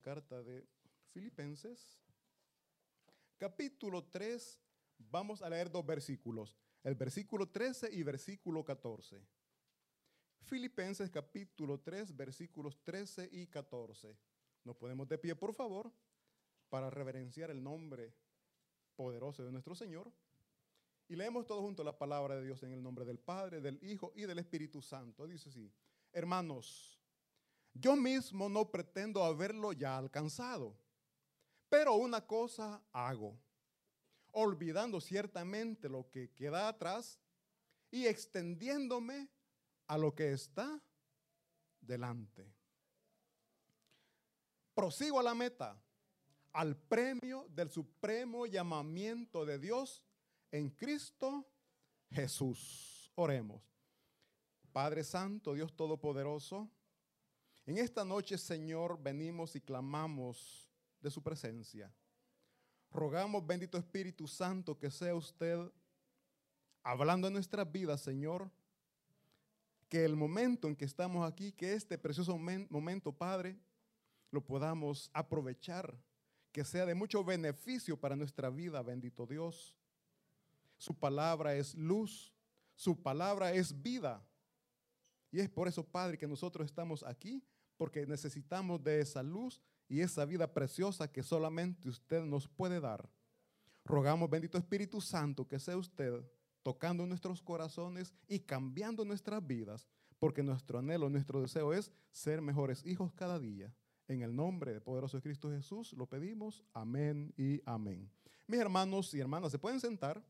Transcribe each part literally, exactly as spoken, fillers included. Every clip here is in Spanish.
carta de Filipenses, capítulo tres, vamos a leer dos versículos, el versículo trece y versículo catorce. Filipenses capítulo tres, versículos trece y catorce. Nos ponemos de pie, por favor, para reverenciar el nombre poderoso de nuestro Señor. Y leemos todos juntos la palabra de Dios en el nombre del Padre, del Hijo y del Espíritu Santo. Dice así: hermanos, yo mismo no pretendo haberlo ya alcanzado, pero una cosa hago, olvidando ciertamente lo que queda atrás y extendiéndome a lo que está delante. Prosigo a la meta, al premio del supremo llamamiento de Dios en Cristo Jesús. Oremos. Padre Santo, Dios Todopoderoso, en esta noche, Señor, venimos y clamamos de su presencia. Rogamos, bendito Espíritu Santo, que sea usted hablando en nuestras vidas, Señor, que el momento en que estamos aquí, que este precioso momento, Padre, lo podamos aprovechar, que sea de mucho beneficio para nuestra vida, bendito Dios. Su palabra es luz, su palabra es vida. Y es por eso, Padre, que nosotros estamos aquí, porque necesitamos de esa luz y esa vida preciosa que solamente usted nos puede dar. Rogamos, bendito Espíritu Santo, que sea usted tocando nuestros corazones y cambiando nuestras vidas, porque nuestro anhelo, nuestro deseo es ser mejores hijos cada día. En el nombre del poderoso Cristo Jesús lo pedimos. Amén y amén. Mis hermanos y hermanas, ¿se pueden sentar?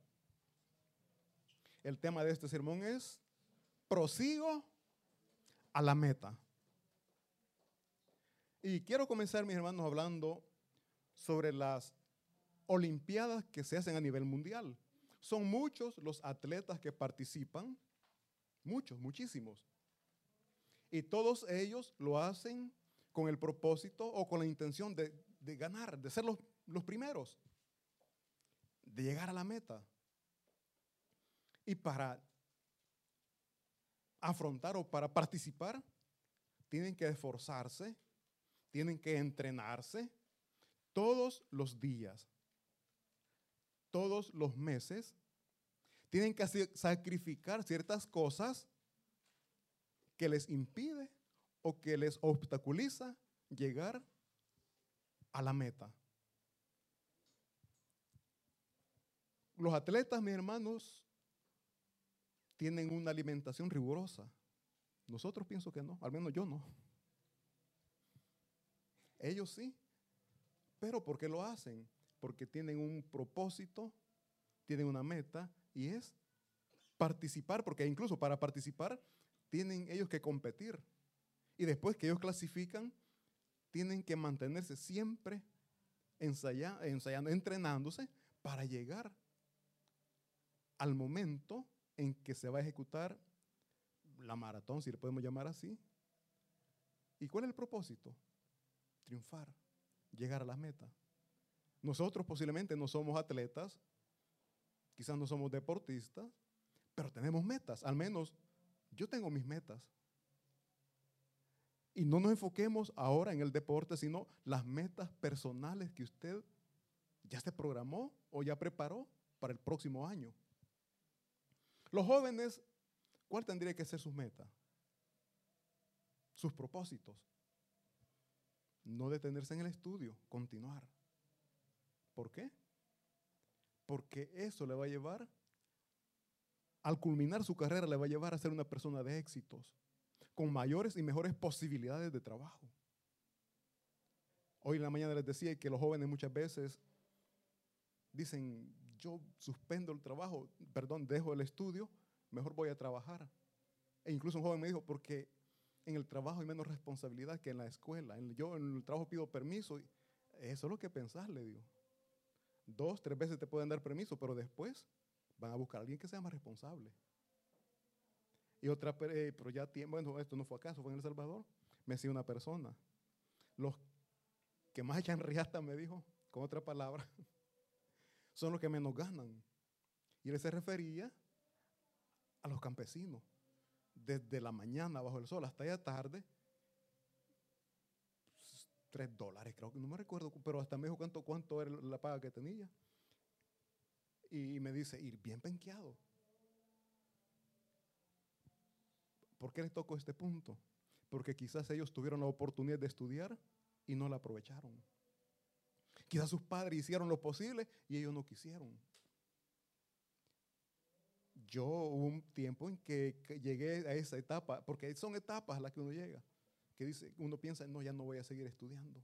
El tema de este sermón es: prosigo a la meta. Y quiero comenzar, mis hermanos, hablando sobre las olimpiadas que se hacen a nivel mundial. Son muchos los atletas que participan, muchos, muchísimos. Y todos ellos lo hacen con el propósito o con la intención de, de ganar, de ser los, los primeros, de llegar a la meta. Y para afrontar o para participar, tienen que esforzarse, tienen que entrenarse todos los días, todos los meses. Tienen que sacrificar ciertas cosas que les impide o que les obstaculiza llegar a la meta. Los atletas, mis hermanos, tienen una alimentación rigurosa. Nosotros pienso que no, al menos yo no. Ellos sí. ¿Pero por qué lo hacen? Porque tienen un propósito, tienen una meta y es participar, porque incluso para participar tienen ellos que competir. Y después que ellos clasifican, tienen que mantenerse siempre ensayando, ensayando, entrenándose para llegar al momento en que se va a ejecutar la maratón, si le podemos llamar así. ¿Y cuál es el propósito? Triunfar, llegar a la meta. Nosotros posiblemente no somos atletas, quizás no somos deportistas, pero tenemos metas. Al menos yo tengo mis metas. Y no nos enfoquemos ahora en el deporte, sino las metas personales que usted ya se programó o ya preparó para el próximo año. Los jóvenes, ¿cuál tendría que ser sus metas? Sus propósitos. No detenerse en el estudio, continuar. ¿Por qué? Porque eso le va a llevar, al culminar su carrera, le va a llevar a ser una persona de éxitos, con mayores y mejores posibilidades de trabajo. Hoy en la mañana les decía que los jóvenes muchas veces dicen: yo suspendo el trabajo, perdón, dejo el estudio, mejor voy a trabajar. E incluso un joven me dijo: porque en el trabajo hay menos responsabilidad que en la escuela. Yo en el trabajo pido permiso. Eso es lo que pensás, le digo. Dos, tres veces te pueden dar permiso, pero después van a buscar a alguien que sea más responsable. Y otra, eh, pero ya tiempo, bueno, esto no fue acaso, fue en El Salvador. Me decía una persona: los que más echan riata, me dijo, con otra palabra, son los que menos ganan. Y él se refería a los campesinos. Desde la mañana bajo el sol hasta ya tarde, tres dólares, creo que no me recuerdo, pero hasta me dijo cuánto, cuánto era la paga que tenía. Y me dice, ir bien penqueado. ¿Por qué les tocó este punto? Porque quizás ellos tuvieron la oportunidad de estudiar y no la aprovecharon. Quizás sus padres hicieron lo posible y ellos no quisieron. Yo hubo un tiempo en que, que llegué a esa etapa, porque son etapas a las que uno llega, que dice, uno piensa, no, ya no voy a seguir estudiando.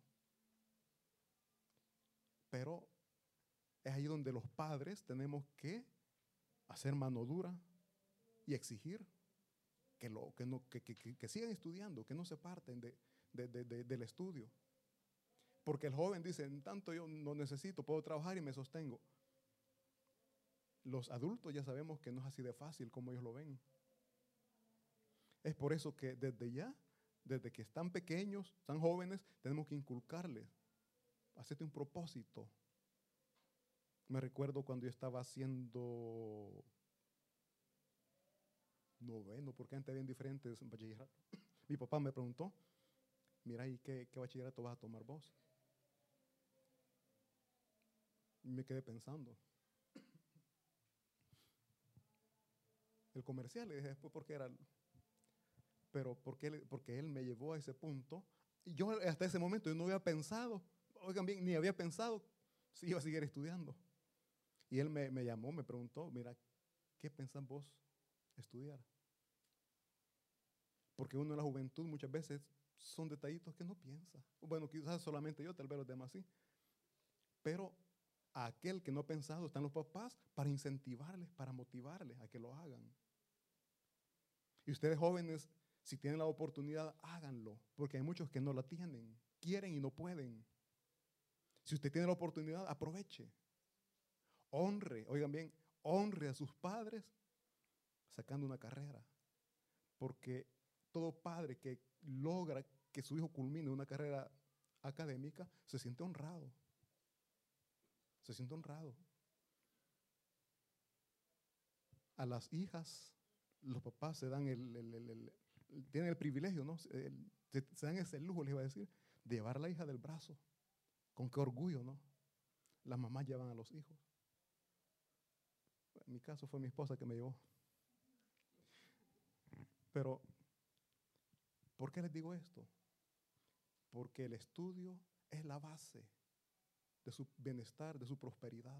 Pero es ahí donde los padres tenemos que hacer mano dura y exigir que, lo, que, no, que, que, que sigan estudiando, que no se parten de, de, de, de, del estudio. Porque el joven dice, en tanto yo no necesito, puedo trabajar y me sostengo. Los adultos ya sabemos que no es así de fácil como ellos lo ven. Es por eso que desde ya, desde que están pequeños, están jóvenes, tenemos que inculcarles, hacerte un propósito. Me recuerdo cuando yo estaba haciendo noveno, porque antes habían diferentes bachilleratos. Mi papá me preguntó, mira, ¿y qué, qué bachillerato vas a tomar vos? Y me quedé pensando. El comercial, le dije después porque era, pero porque él, porque él me llevó a ese punto. Y yo hasta ese momento yo no había pensado, oigan bien, ni había pensado si iba a seguir estudiando. Y él me, me llamó, me preguntó, mira, ¿qué pensás vos estudiar? Porque uno en la juventud muchas veces son detallitos que no piensa. Bueno, quizás solamente yo, tal vez los demás sí. Pero a aquel que no ha pensado están los papás para incentivarles, para motivarles a que lo hagan. Y ustedes jóvenes, si tienen la oportunidad, háganlo, porque hay muchos que no la tienen, quieren y no pueden. Si usted tiene la oportunidad, aproveche. Honre, oigan bien, honre a sus padres sacando una carrera. Porque todo padre que logra que su hijo culmine una carrera académica se siente honrado. Se siente honrado. A las hijas, los papás se dan el, el, el, el, el tienen el privilegio, ¿no? El, se, se dan ese lujo, les iba a decir, de llevar a la hija del brazo. Con qué orgullo, ¿no? Las mamás llevan a los hijos. En mi caso fue mi esposa que me llevó. Pero, ¿por qué les digo esto? Porque el estudio es la base de su bienestar, de su prosperidad.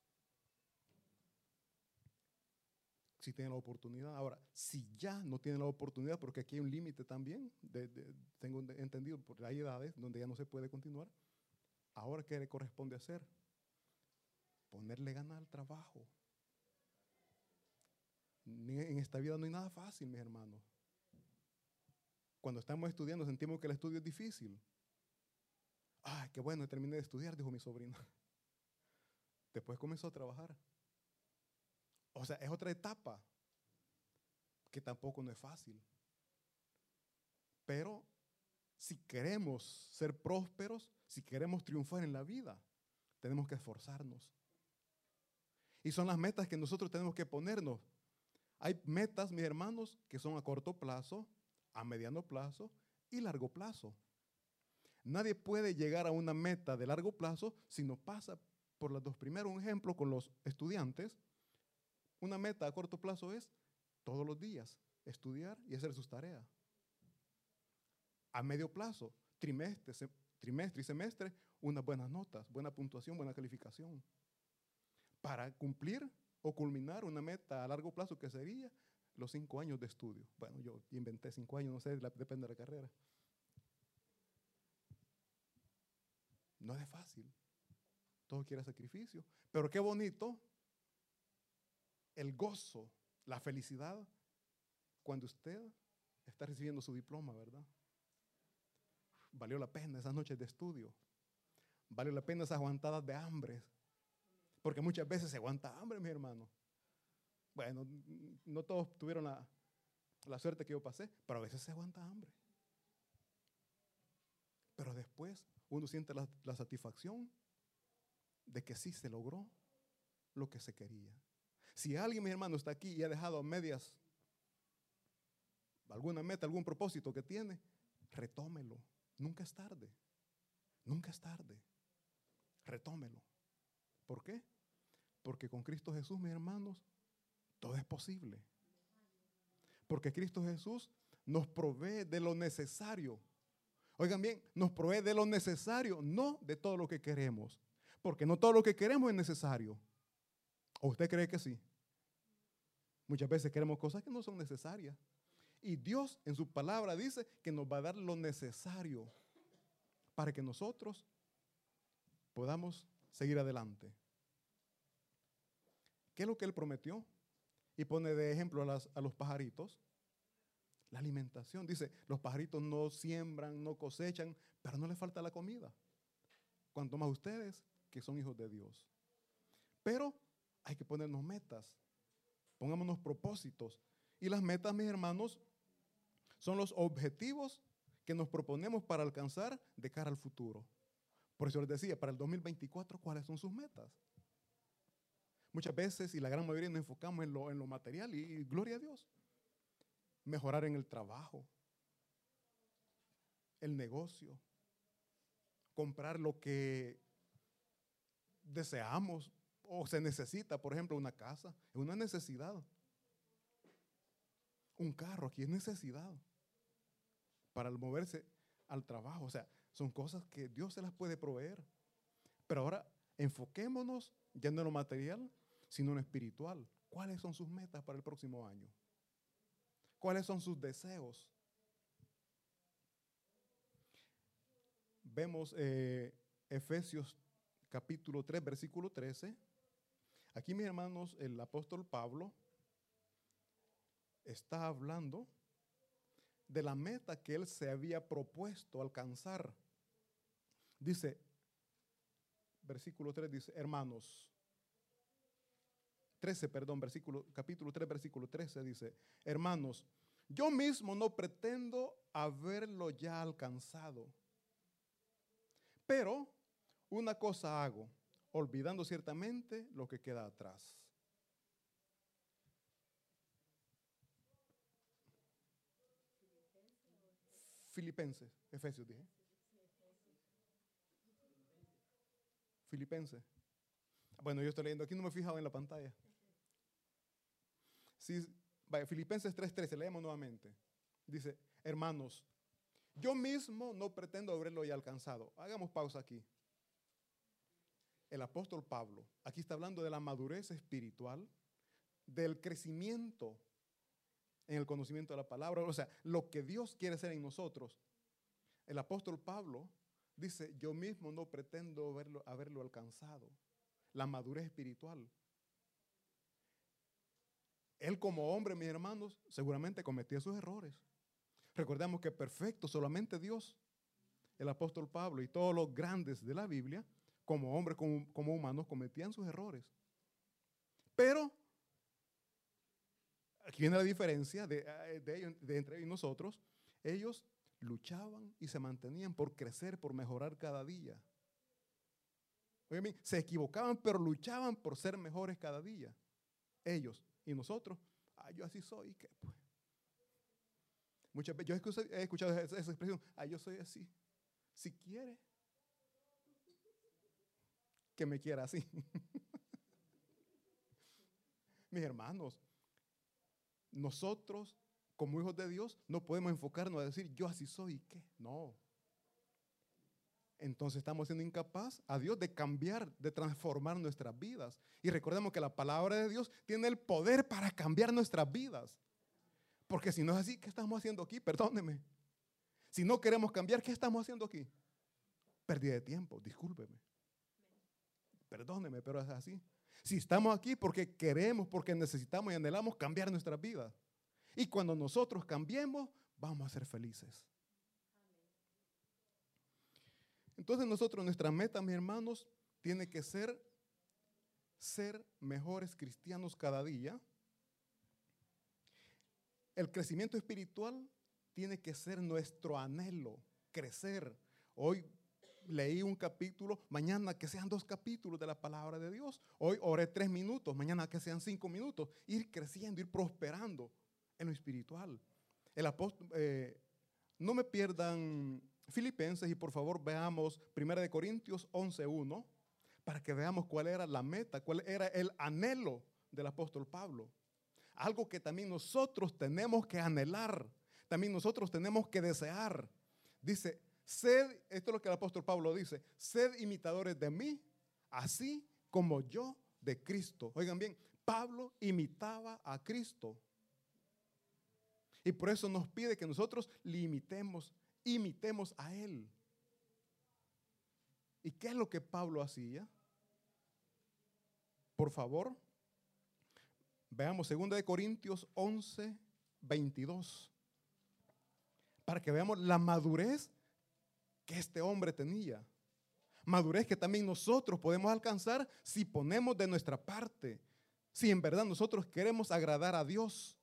Si tienen la oportunidad. Ahora, si ya no tienen la oportunidad, porque aquí hay un límite también, de, de, tengo entendido, porque hay edades donde ya no se puede continuar, ahora, ¿qué le corresponde hacer? Ponerle ganas al trabajo. En esta vida no hay nada fácil, mis hermanos. Cuando estamos estudiando sentimos que el estudio es difícil. Ay, qué bueno, terminé de estudiar, dijo mi sobrino. Después comenzó a trabajar. O sea, es otra etapa que tampoco no es fácil. Pero si queremos ser prósperos, si queremos triunfar en la vida, tenemos que esforzarnos. Y son las metas que nosotros tenemos que ponernos. Hay metas, mis hermanos, que son a corto plazo, a mediano plazo y largo plazo. Nadie puede llegar a una meta de largo plazo si no pasa por las dos primeras. Un ejemplo con los estudiantes. Una meta a corto plazo es todos los días estudiar y hacer sus tareas. A medio plazo, trimestre, se, trimestre y semestre, unas buenas notas, buena puntuación, buena calificación. Para cumplir o culminar una meta a largo plazo que sería los cinco años de estudio. Bueno, yo inventé cinco años, no sé, la, depende de la carrera. No es fácil. Todo quiere sacrificio. Pero qué bonito el gozo, la felicidad cuando usted está recibiendo su diploma, ¿verdad? Valió la pena esas noches de estudio. Valió la pena esas aguantadas de hambre. Porque muchas veces se aguanta hambre, mi hermano. Bueno, no todos tuvieron la, la suerte que yo pasé, pero a veces se aguanta hambre. Pero después uno siente la, la satisfacción de que sí se logró lo que se quería. Si alguien, mi hermano, está aquí y ha dejado a medias alguna meta, algún propósito que tiene, retómelo. Nunca es tarde. Nunca es tarde. Retómelo. ¿Por qué? Porque con Cristo Jesús, mis hermanos, todo es posible. Porque Cristo Jesús nos provee de lo necesario. Oigan bien, nos provee de lo necesario, no de todo lo que queremos. Porque no todo lo que queremos es necesario. ¿O usted cree que sí? Muchas veces queremos cosas que no son necesarias. Y Dios en su palabra dice que nos va a dar lo necesario para que nosotros podamos seguir adelante. ¿Qué es lo que Él prometió? Y pone de ejemplo a, las, a los pajaritos. La alimentación. Dice, los pajaritos no siembran, no cosechan, pero no les falta la comida. Cuanto más ustedes, que son hijos de Dios. Pero hay que ponernos metas. Pongámonos propósitos. Y las metas, mis hermanos, son los objetivos que nos proponemos para alcanzar de cara al futuro. Por eso les decía, para el dos mil veinticuatro, ¿cuáles son sus metas? Muchas veces, y la gran mayoría, nos enfocamos en lo, en lo material y, y gloria a Dios. Mejorar en el trabajo, el negocio, comprar lo que deseamos o se necesita, por ejemplo, una casa, es una necesidad. Un carro aquí es necesidad para moverse al trabajo. O sea, son cosas que Dios se las puede proveer. Pero ahora enfoquémonos ya no en lo material, sino en lo espiritual. ¿Cuáles son sus metas para el próximo año? ¿Cuáles son sus deseos? Vemos eh, Efesios capítulo tres, versículo trece. Aquí, mis hermanos, el apóstol Pablo está hablando de la meta que él se había propuesto alcanzar. Dice, versículo tres, dice, hermanos, trece, perdón, versículo, capítulo tres, versículo trece, dice, hermanos, yo mismo no pretendo haberlo ya alcanzado, pero una cosa hago, olvidando ciertamente lo que queda atrás. Filipenses, Efesios dije. Filipenses. Bueno, yo estoy leyendo aquí, no me he fijado en la pantalla. Sí, vaya, Filipenses tres trece, leemos nuevamente. Dice, hermanos, yo mismo no pretendo haberlo ya alcanzado. Hagamos pausa aquí. El apóstol Pablo, aquí está hablando de la madurez espiritual, del crecimiento en el conocimiento de la palabra, o sea, lo que Dios quiere hacer en nosotros. El apóstol Pablo dice, yo mismo no pretendo haberlo, haberlo alcanzado. La madurez espiritual. Él como hombre, mis hermanos, seguramente cometía sus errores. Recordemos que perfecto solamente Dios. El apóstol Pablo y todos los grandes de la Biblia, como hombres, como, como humanos, cometían sus errores. Pero aquí viene la diferencia de, de ellos, de entre ellos y nosotros. Ellos luchaban y se mantenían por crecer, por mejorar cada día. Oigan, se equivocaban, pero luchaban por ser mejores cada día. Ellos y nosotros, ah, yo así soy, ¿qué pues? Muchas veces, yo he escuchado esa, esa expresión, ah, yo soy así. Si quiere, que me quiera así. Mis hermanos, nosotros como hijos de Dios no podemos enfocarnos a decir yo así soy y qué. No. Entonces estamos siendo incapaz a Dios de cambiar, de transformar nuestras vidas. Y recordemos que la palabra de Dios tiene el poder para cambiar nuestras vidas. Porque si no es así, ¿qué estamos haciendo aquí? Perdóneme. Si no queremos cambiar, ¿qué estamos haciendo aquí? Pérdida de tiempo, discúlpeme. Perdóneme, pero es así. Si estamos aquí porque queremos, porque necesitamos y anhelamos cambiar nuestras vidas. Y cuando nosotros cambiemos, vamos a ser felices. Entonces nosotros, nuestra meta, mis hermanos, tiene que ser ser mejores cristianos cada día. El crecimiento espiritual tiene que ser nuestro anhelo, crecer. Hoy leí un capítulo, mañana que sean dos capítulos de la palabra de Dios. Hoy oré tres minutos, mañana que sean cinco minutos. Ir creciendo, ir prosperando en lo espiritual. El apóstol, eh, no me pierdan Filipenses, y por favor veamos primera de Corintios once uno, para que veamos cuál era la meta, cuál era el anhelo del apóstol Pablo. Algo que también nosotros tenemos que anhelar, también nosotros tenemos que desear. Dice, sed, esto es lo que el apóstol Pablo dice, sed imitadores de mí, así como yo de Cristo. Oigan bien, Pablo imitaba a Cristo. Y por eso nos pide que nosotros le imitemos, imitemos a Él. ¿Y qué es lo que Pablo hacía? Por favor, veamos segunda de Corintios once, veintidós. Para que veamos la madurez que este hombre tenía. Madurez que también nosotros podemos alcanzar si ponemos de nuestra parte. Si en verdad nosotros queremos agradar a Dios.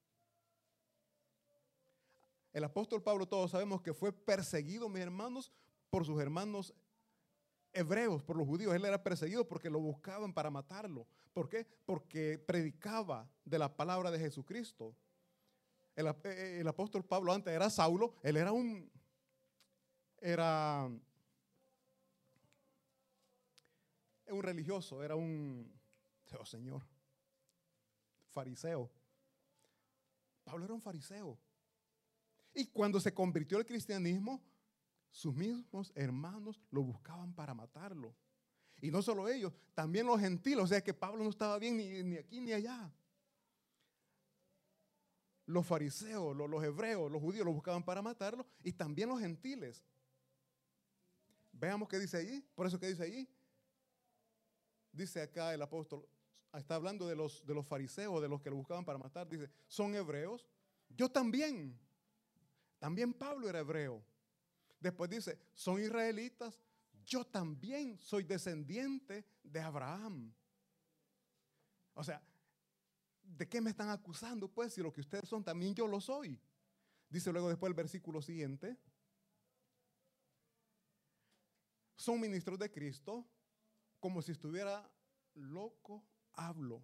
El apóstol Pablo, todos sabemos que fue perseguido, mis hermanos, por sus hermanos hebreos, por los judíos. Él era perseguido porque lo buscaban para matarlo. ¿Por qué? Porque predicaba de la palabra de Jesucristo. El, el apóstol Pablo antes era Saulo, él era un, era un religioso, era un, oh Señor, fariseo. Pablo era un fariseo. Y cuando se convirtió al cristianismo, sus mismos hermanos lo buscaban para matarlo. Y no solo ellos, también los gentiles. O sea que Pablo no estaba bien ni, ni aquí ni allá. Los fariseos, los, los hebreos, los judíos lo buscaban para matarlo. Y también los gentiles. Veamos qué dice allí. Por eso que dice allí. Dice acá el apóstol, está hablando de los, de los fariseos, de los que lo buscaban para matar. Dice, son hebreos. Yo también. También Pablo era hebreo. Después dice, son israelitas, yo también soy descendiente de Abraham. O sea, ¿de qué me están acusando? Pues si lo que ustedes son, también yo lo soy. Dice luego después el versículo siguiente. Son ministros de Cristo, como si estuviera loco, hablo.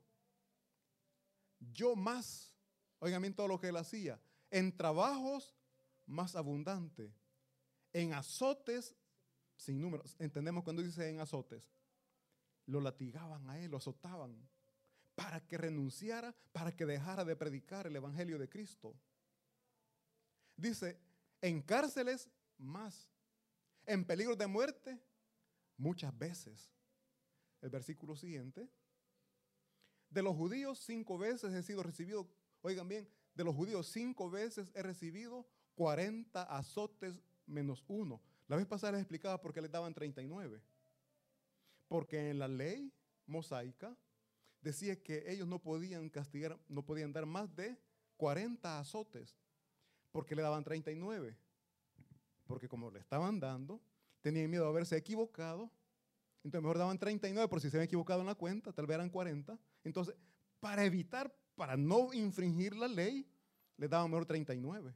Yo más, oigan bien todo lo que él hacía, en trabajos más abundante, en azotes sin número. Entendemos cuando dice en azotes. Lo latigaban a él, lo azotaban para que renunciara, para que dejara de predicar el evangelio de Cristo. Dice, en cárceles más, en peligro de muerte muchas veces. El versículo siguiente. De los judíos cinco veces he sido recibido, oigan bien, de los judíos cinco veces he recibido cuarenta azotes menos uno. La vez pasada les explicaba por qué les daban treinta y nueve. Porque en la ley mosaica decía que ellos no podían castigar, no podían dar más de cuarenta azotes. Porque le daban treinta y nueve. Porque como le estaban dando, tenían miedo de haberse equivocado. Entonces mejor daban treinta y nueve por si se habían equivocado en la cuenta, tal vez eran cuarenta. Entonces, para evitar, para no infringir la ley, les daban mejor treinta y nueve.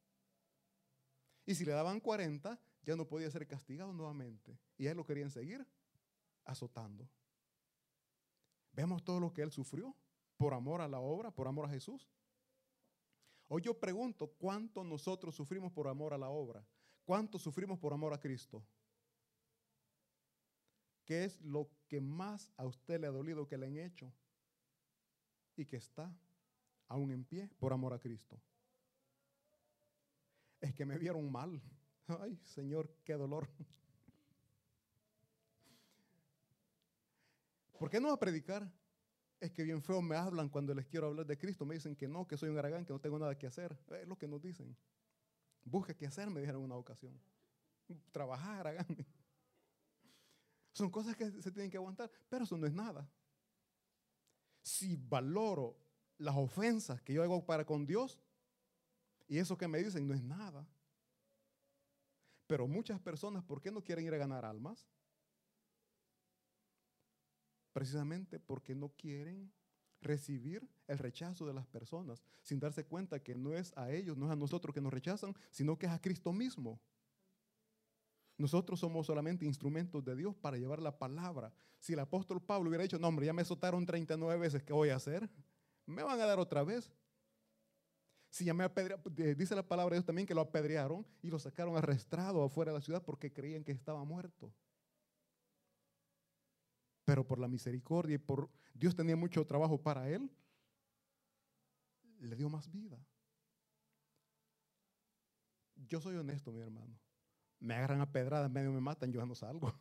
Y si le daban cuarenta, ya no podía ser castigado nuevamente. Y a él lo querían seguir azotando. Vemos todo lo que él sufrió por amor a la obra, por amor a Jesús. Hoy yo pregunto, ¿cuánto nosotros sufrimos por amor a la obra? ¿Cuánto sufrimos por amor a Cristo? ¿Qué es lo que más a usted le ha dolido que le han hecho y que está aún en pie por amor a Cristo? Es que me vieron mal. Ay, Señor, qué dolor. ¿Por qué no va a predicar? Es que bien feo me hablan cuando les quiero hablar de Cristo. Me dicen que no, que soy un aragán, que no tengo nada que hacer. Es lo que nos dicen. Busca qué hacer, me dijeron en una ocasión. Trabajar, aragán. Son cosas que se tienen que aguantar, pero eso no es nada. Si valoro las ofensas que yo hago para con Dios, y eso que me dicen no es nada. Pero muchas personas, ¿por qué no quieren ir a ganar almas? Precisamente porque no quieren recibir el rechazo de las personas, sin darse cuenta que no es a ellos, no es a nosotros que nos rechazan, sino que es a Cristo mismo. Nosotros somos solamente instrumentos de Dios para llevar la palabra. Si el apóstol Pablo hubiera dicho, no hombre, ya me azotaron treinta y nueve veces, ¿qué voy a hacer? Me van a dar otra vez. Si ya me apedrea- dice la palabra de Dios también que lo apedrearon y lo sacaron arrastrado afuera de la ciudad porque creían que estaba muerto. Pero por la misericordia y por Dios tenía mucho trabajo para él, le dio más vida. Yo soy honesto, mi hermano. Me agarran a pedradas, medio me matan, yo ya no salgo.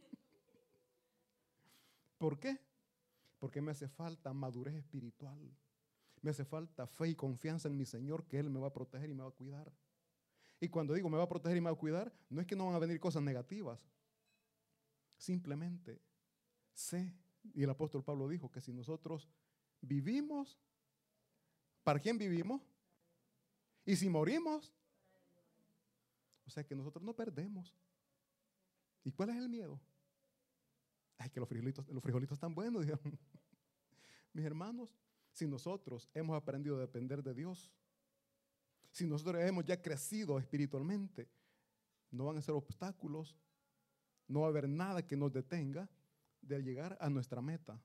¿Por qué? Porque me hace falta madurez espiritual. Me hace falta fe y confianza en mi Señor, que Él me va a proteger y me va a cuidar. Y cuando digo me va a proteger y me va a cuidar, no es que no van a venir cosas negativas. Simplemente sé, y el apóstol Pablo dijo que si nosotros vivimos, ¿para quién vivimos? Y si morimos, o sea que nosotros no perdemos. ¿Y cuál es el miedo? Ay, que los frijolitos, los frijolitos están buenos, dijeron. Mis hermanos, si nosotros hemos aprendido a depender de Dios, si nosotros hemos ya crecido espiritualmente, no van a ser obstáculos, no va a haber nada que nos detenga de llegar a nuestra meta.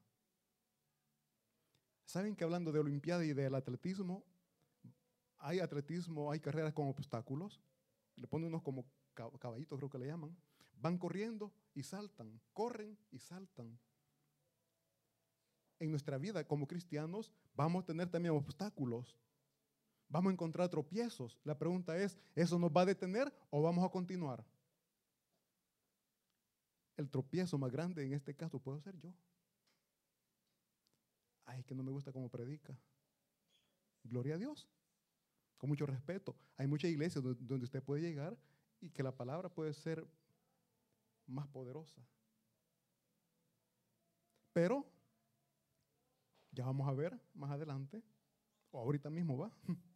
¿Saben que hablando de Olimpiada y del atletismo, hay atletismo, hay carreras con obstáculos? Le ponen unos como caballitos, creo que le llaman. Van corriendo y saltan, corren y saltan. En nuestra vida como cristianos vamos a tener también obstáculos. Vamos a encontrar tropiezos. La pregunta es, ¿eso nos va a detener o vamos a continuar? El tropiezo más grande en este caso puedo ser yo. Ay, que no me gusta cómo predica. Gloria a Dios. Con mucho respeto. Hay muchas iglesias donde usted puede llegar y que la palabra puede ser más poderosa. Pero ya vamos a ver más adelante, o ahorita mismo va.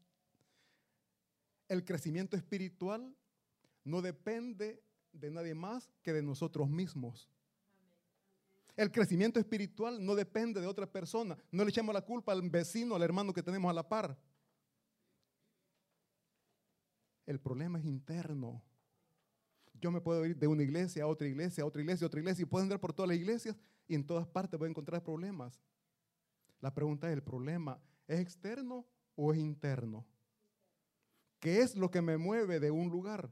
El crecimiento espiritual no depende de nadie más que de nosotros mismos. El crecimiento espiritual no depende de otra persona. No le echamos la culpa al vecino, al hermano que tenemos a la par. El problema es interno. Yo me puedo ir de una iglesia a otra iglesia, a otra iglesia, a otra iglesia, y puedo andar por todas las iglesias y en todas partes voy a encontrar problemas. La pregunta es, ¿el problema es externo o es interno? ¿Qué es lo que me mueve de un lugar?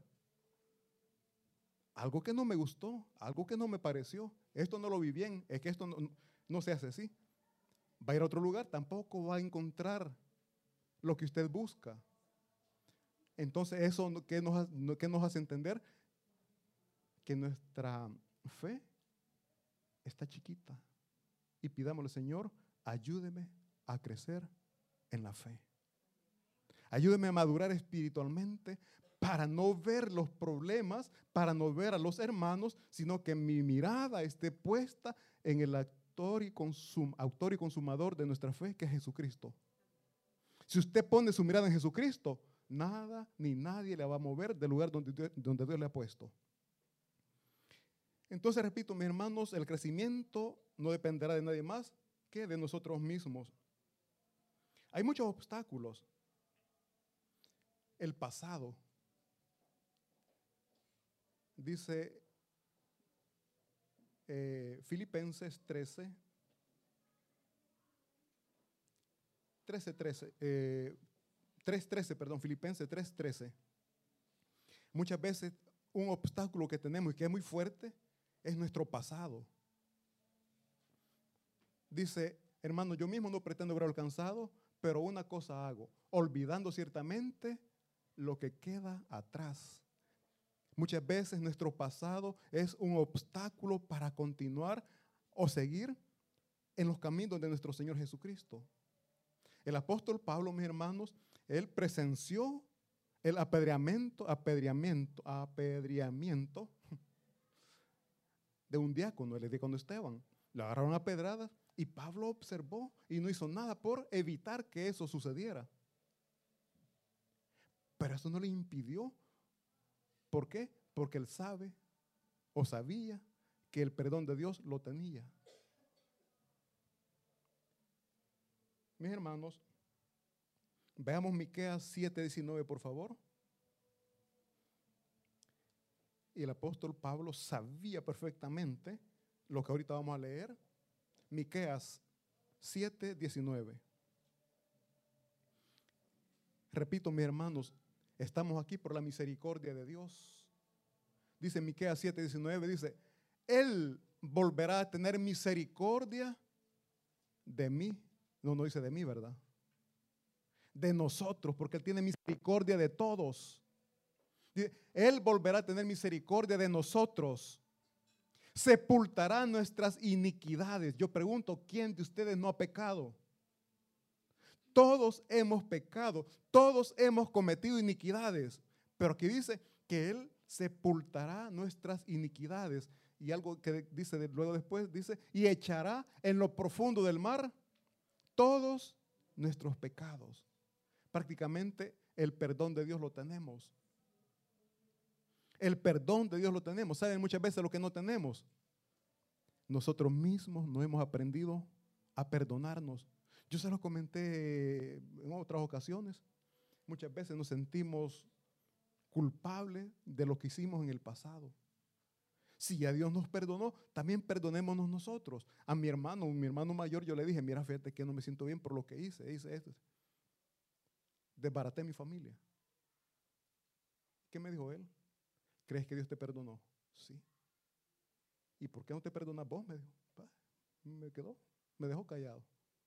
Algo que no me gustó, algo que no me pareció. Esto no lo vi bien, es que esto no, no se hace así. Va a ir a otro lugar, tampoco va a encontrar lo que usted busca. Entonces, ¿eso qué nos, qué nos hace entender? Que nuestra fe está chiquita. Y pidámosle, Señor, ayúdeme a crecer en la fe. Ayúdeme a madurar espiritualmente para no ver los problemas, para no ver a los hermanos, sino que mi mirada esté puesta en el autor y, consum, autor y consumador de nuestra fe, que es Jesucristo. Si usted pone su mirada en Jesucristo, nada ni nadie le va a mover del lugar donde Dios, donde Dios le ha puesto. Entonces, repito, mis hermanos, el crecimiento no dependerá de nadie más que de nosotros mismos. Hay muchos obstáculos. El pasado. Dice eh, Filipenses trece, trece, trece, eh, tres trece, perdón, Filipenses tres trece. Muchas veces un obstáculo que tenemos y que es muy fuerte es nuestro pasado. Dice, hermano, yo mismo no pretendo haber alcanzado, pero una cosa hago, olvidando ciertamente lo que queda atrás. Muchas veces nuestro pasado es un obstáculo para continuar o seguir en los caminos de nuestro Señor Jesucristo. El apóstol Pablo, mis hermanos, él presenció el apedreamiento, apedreamiento, apedreamiento de un diácono, el diácono Esteban. Le agarraron a pedradas y Pablo observó y no hizo nada por evitar que eso sucediera. Pero eso no le impidió. ¿Por qué? Porque él sabe o sabía que el perdón de Dios lo tenía. Mis hermanos, veamos Miqueas siete diecinueve, por favor. Y el apóstol Pablo sabía perfectamente lo que ahorita vamos a leer. Miqueas siete diecinueve. Repito, mis hermanos, estamos aquí por la misericordia de Dios. Dice Miqueas siete diecinueve, dice, Él volverá a tener misericordia de mí. No, no dice de mí, ¿verdad? De nosotros, porque Él tiene misericordia de todos. Dice, Él volverá a tener misericordia de nosotros. Sepultará nuestras iniquidades. Yo pregunto, ¿quién de ustedes no ha pecado? Todos hemos pecado, todos hemos cometido iniquidades, pero aquí dice que Él sepultará nuestras iniquidades. Y algo que dice de, luego después, dice, y echará en lo profundo del mar todos nuestros pecados. Prácticamente el perdón de Dios lo tenemos. El perdón de Dios lo tenemos. ¿Saben muchas veces lo que no tenemos? Nosotros mismos no hemos aprendido a perdonarnos. Yo se lo comenté en otras ocasiones. Muchas veces nos sentimos culpables de lo que hicimos en el pasado. Si ya Dios nos perdonó, también perdonémonos nosotros. A mi hermano, mi hermano mayor, yo le dije, mira, fíjate que no me siento bien por lo que hice, hice esto. Desbaraté mi familia. ¿Qué me dijo él? ¿Crees que Dios te perdonó? Sí. ¿Y por qué no te perdonas vos? Me dijo. Me quedó, me dejó callado.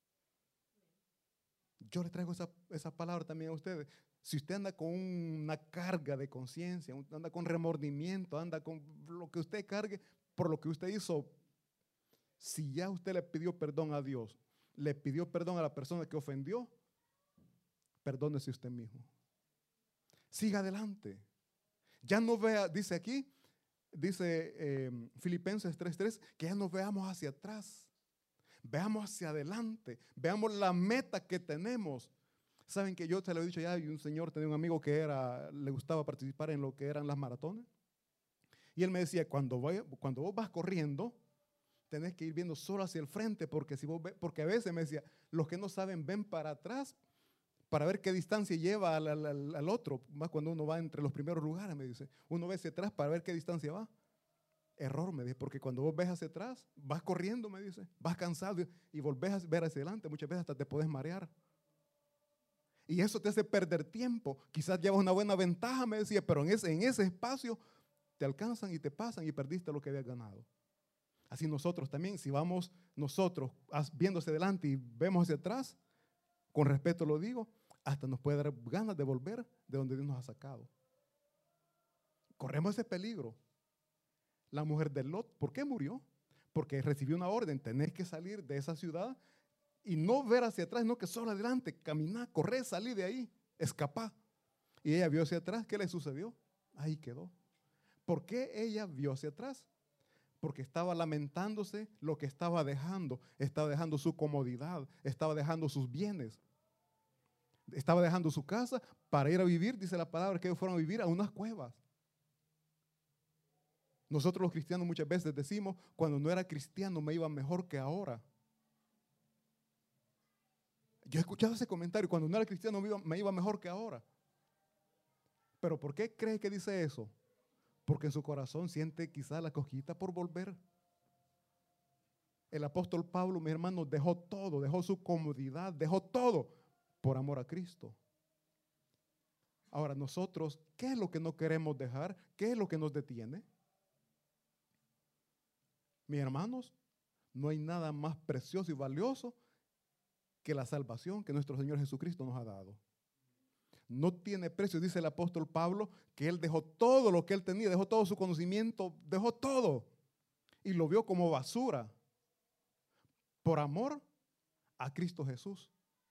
Yo le traigo esa, esa palabra también a ustedes. Si usted anda con una carga de conciencia, anda con remordimiento, anda con lo que usted cargue por lo que usted hizo, si ya usted le pidió perdón a Dios, le pidió perdón a la persona que ofendió, perdónese usted mismo. Siga adelante. Ya no vea, dice aquí, dice eh, Filipenses tres tres, que ya no veamos hacia atrás. Veamos hacia adelante, veamos la meta que tenemos. Saben que yo te lo he dicho ya, y un señor tenía un amigo que era, le gustaba participar en lo que eran las maratones. Y él me decía, cuando, vaya, cuando vos vas corriendo, tenés que ir viendo solo hacia el frente, porque, si vos ve, porque a veces me decía, los que no saben ven para atrás para ver qué distancia lleva al, al, al otro. Más cuando uno va entre los primeros lugares, me dice, uno ve hacia atrás para ver qué distancia va. Error, me dice, porque cuando vos ves hacia atrás, vas corriendo, me dice, vas cansado y volvés a ver hacia adelante, muchas veces hasta te puedes marear. Y eso te hace perder tiempo. Quizás llevas una buena ventaja, me decía, pero en ese, en ese espacio te alcanzan y te pasan y perdiste lo que habías ganado. Así nosotros también, si vamos nosotros viendo hacia adelante y vemos hacia atrás, con respeto lo digo, hasta nos puede dar ganas de volver de donde Dios nos ha sacado. Corremos ese peligro. La mujer de Lot, ¿por qué murió? Porque recibió una orden, tenés que salir de esa ciudad y no ver hacia atrás, no que solo adelante, caminar, correr, salir de ahí, escapar. Y ella vio hacia atrás, ¿qué le sucedió? Ahí quedó. ¿Por qué ella vio hacia atrás? Porque estaba lamentándose lo que estaba dejando, estaba dejando su comodidad, estaba dejando sus bienes, estaba dejando su casa para ir a vivir, dice la palabra, que ellos fueron a vivir a unas cuevas. Nosotros los cristianos muchas veces decimos, cuando no era cristiano me iba mejor que ahora. Yo he escuchado ese comentario, cuando no era cristiano me iba, me iba mejor que ahora. ¿Pero por qué cree que dice eso? Porque en su corazón siente quizás la cosquillita por volver. El apóstol Pablo, mi hermano, dejó todo, dejó su comodidad, dejó todo por amor a Cristo. Ahora nosotros, ¿qué es lo que no queremos dejar? ¿Qué es lo que nos detiene? Mis hermanos, no hay nada más precioso y valioso que la salvación que nuestro Señor Jesucristo nos ha dado. No tiene precio, dice el apóstol Pablo, que él dejó todo lo que él tenía, dejó todo su conocimiento, dejó todo y lo vio como basura por amor a Cristo Jesús.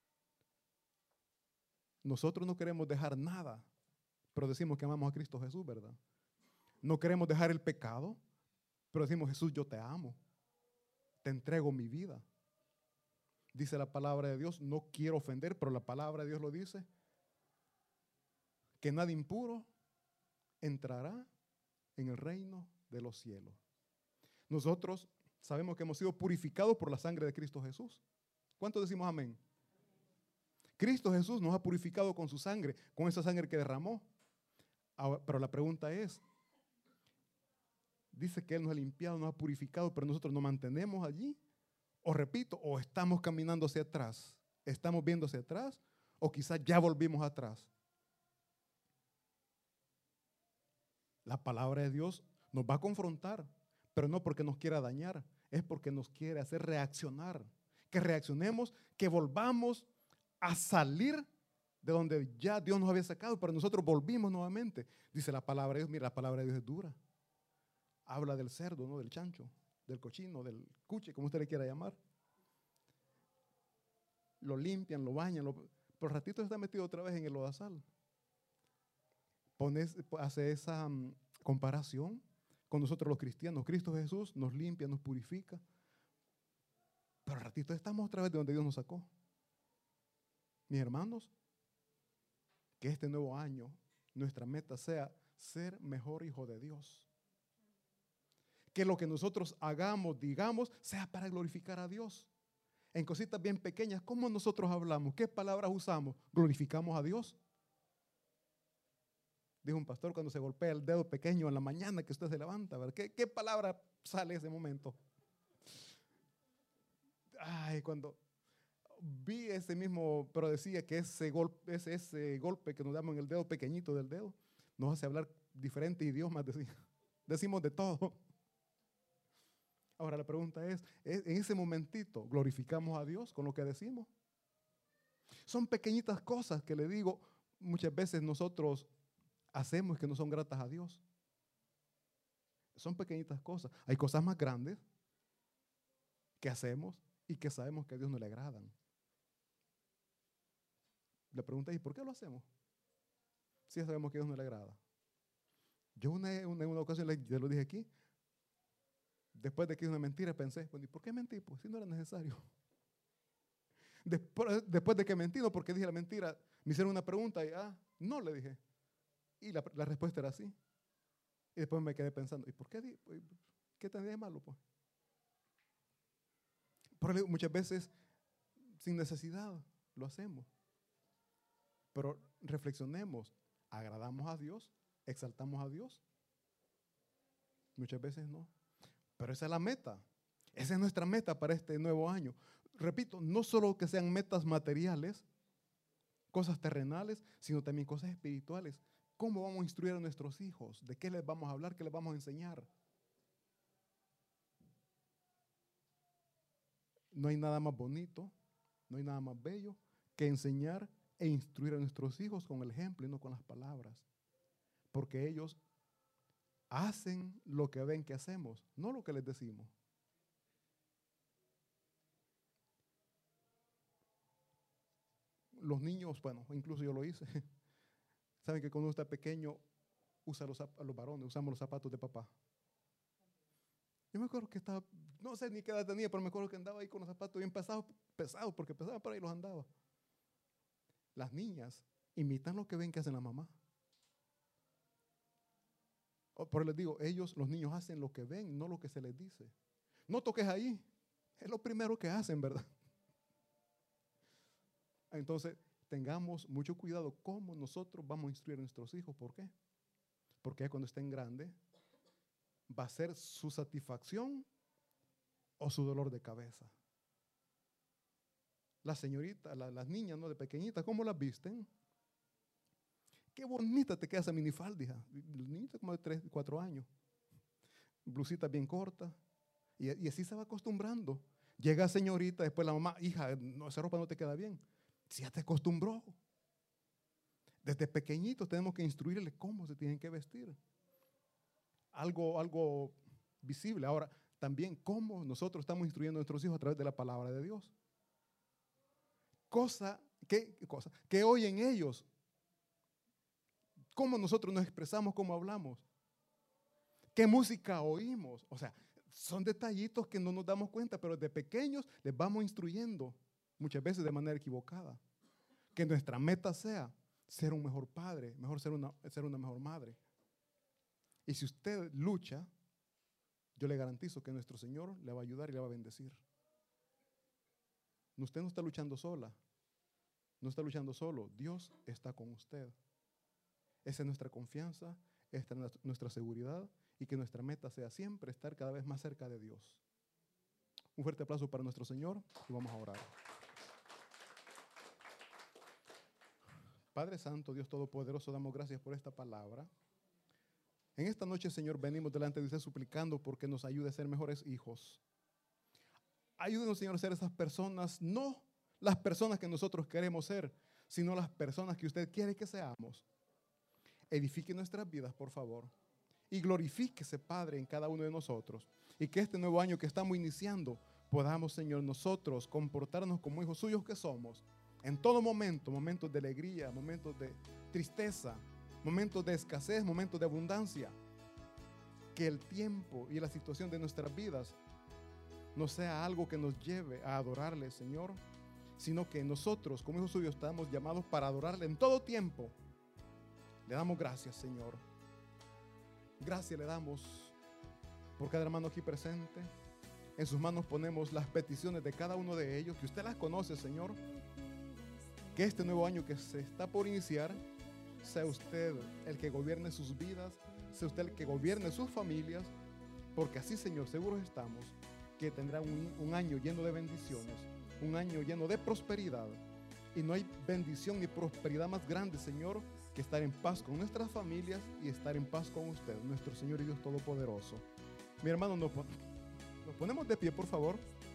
Nosotros no queremos dejar nada, pero decimos que amamos a Cristo Jesús, ¿verdad? No queremos dejar el pecado, pero decimos, Jesús, yo te amo, te entrego mi vida. Dice la palabra de Dios, no quiero ofender, pero la palabra de Dios lo dice, que nada impuro entrará en el reino de los cielos. Nosotros sabemos que hemos sido purificados por la sangre de Cristo Jesús. ¿Cuántos decimos amén? Cristo Jesús nos ha purificado con su sangre, con esa sangre que derramó. Ahora, pero la pregunta es, dice que Él nos ha limpiado, nos ha purificado, pero nosotros nos mantenemos allí. O repito, o estamos caminando hacia atrás, estamos viendo hacia atrás, O quizás ya volvimos atrás. La palabra de Dios nos va a confrontar, pero no porque nos quiera dañar, es porque nos quiere hacer reaccionar. Que reaccionemos, que volvamos a salir de donde ya Dios nos había sacado, pero nosotros volvimos nuevamente. Dice la palabra de Dios, mira, la palabra de Dios es dura. Habla del cerdo, ¿no? Del chancho, del cochino, del cuche, como usted le quiera llamar. Lo limpian, lo bañan, lo, por ratito está metido otra vez en el lodazal. Pones, hace esa um, comparación con nosotros los cristianos. Cristo Jesús nos limpia, nos purifica, pero al ratito estamos otra vez de donde Dios nos sacó. Mis hermanos, que este nuevo año nuestra meta sea ser mejor hijo de Dios. Que lo que nosotros hagamos, digamos, sea para glorificar a Dios. En cositas bien pequeñas, ¿cómo nosotros hablamos? ¿Qué palabras usamos? ¿Glorificamos a Dios? Dijo un pastor cuando se golpea el dedo pequeño en la mañana que usted se levanta, ¿verdad? ¿Qué, qué palabra sale en ese momento? Ay, cuando vi ese mismo, pero decía que ese golpe, ese, ese golpe que nos damos en el dedo pequeñito del dedo nos hace hablar diferentes idiomas, decía. Decimos de todo. Ahora la pregunta es, en ese momentito, ¿glorificamos a Dios con lo que decimos? Son pequeñitas cosas que le digo, muchas veces nosotros hacemos que no son gratas a Dios. Son pequeñitas cosas. Hay cosas más grandes que hacemos y que sabemos que a Dios no le agradan. La pregunta es, ¿por qué lo hacemos? Si ya sabemos que a Dios no le agrada. Yo una, una, en una ocasión, ya lo dije aquí, después de que hice una mentira, pensé, ¿y por qué mentí? Pues si no era necesario. Después, después de que mentí, no porque dije la mentira, me hicieron una pregunta y, ah, no le dije. Y la, la respuesta era sí. Y después me quedé pensando, ¿y por qué? Di, ¿Qué tendría de malo? Pues? Pero muchas veces, sin necesidad, lo hacemos. Pero reflexionemos, ¿agradamos a Dios? ¿Exaltamos a Dios? Muchas veces no. Pero esa es la meta. Esa es nuestra meta para este nuevo año. Repito, no solo que sean metas materiales, cosas terrenales, sino también cosas espirituales. ¿Cómo vamos a instruir a nuestros hijos? ¿De qué les vamos a hablar? ¿Qué les vamos a enseñar? No hay nada más bonito, no hay nada más bello que enseñar e instruir a nuestros hijos con el ejemplo y no con las palabras. Porque ellos hacen lo que ven que hacemos, no lo que les decimos. Los niños, bueno, incluso yo lo hice. Saben que cuando uno está pequeño, usa los, los varones, usamos los zapatos de papá. Yo me acuerdo que estaba, no sé ni qué edad tenía, pero me acuerdo que andaba ahí con los zapatos bien pesados, pesados porque pesaban, pero ahí los andaba. Las niñas imitan lo que ven que hacen la mamá. Por eso les digo, ellos, los niños hacen lo que ven, no lo que se les dice. No toques ahí, es lo primero que hacen, ¿verdad? Entonces, tengamos mucho cuidado cómo nosotros vamos a instruir a nuestros hijos. ¿Por qué? Porque cuando estén grandes, va a ser su satisfacción o su dolor de cabeza. Las señoritas, la, las niñas, ¿no? De pequeñitas, ¿cómo las visten? Qué bonita te queda esa minifalda, hija. Niñita como de tres, cuatro años. Blusita bien corta. Y, y así se va acostumbrando. Llega señorita, después la mamá, hija, no, esa ropa no te queda bien. Si ya te acostumbró. Desde pequeñitos tenemos que instruirles cómo se tienen que vestir. Algo, algo visible. Ahora, también cómo nosotros estamos instruyendo a nuestros hijos a través de la palabra de Dios. Cosa que, cosa, que oyen ellos. Cómo nosotros nos expresamos, cómo hablamos. ¿Qué música oímos? O sea, son detallitos que no nos damos cuenta, pero desde pequeños les vamos instruyendo, muchas veces de manera equivocada. Que nuestra meta sea ser un mejor padre, mejor ser una, ser una mejor madre. Y si usted lucha, yo le garantizo que nuestro Señor le va a ayudar y le va a bendecir. Usted no está luchando sola, no está luchando solo, Dios está con usted. Esa es nuestra confianza, esta es nuestra seguridad y que nuestra meta sea siempre estar cada vez más cerca de Dios. Un fuerte aplauso para nuestro Señor y vamos a orar. Padre Santo, Dios Todopoderoso, damos gracias por esta palabra. En esta noche, Señor, venimos delante de usted suplicando porque nos ayude a ser mejores hijos. Ayúdenos, Señor, a ser esas personas, no las personas que nosotros queremos ser, sino las personas que usted quiere que seamos. Edifique nuestras vidas, por favor, y glorifíquese, Padre, en cada uno de nosotros. Y que este nuevo año que estamos iniciando, podamos, Señor, nosotros comportarnos como hijos suyos que somos. En todo momento, momentos de alegría, momentos de tristeza, momentos de escasez, momentos de abundancia. Que el tiempo y la situación de nuestras vidas no sea algo que nos lleve a adorarle, Señor, sino que nosotros, como hijos suyos, estamos llamados para adorarle en todo tiempo. Le damos gracias, Señor. Gracias le damos por cada hermano aquí presente. En sus manos ponemos las peticiones de cada uno de ellos, que usted las conoce, Señor. Que este nuevo año que se está por iniciar, sea usted el que gobierne sus vidas, sea usted el que gobierne sus familias, porque así, Señor, seguros estamos que tendrá un, un año lleno de bendiciones, un año lleno de prosperidad. Y no hay bendición ni prosperidad más grande, Señor, que estar en paz con nuestras familias y estar en paz con usted, nuestro Señor y Dios Todopoderoso. Mi hermano, nos, nos ponemos de pie, por favor.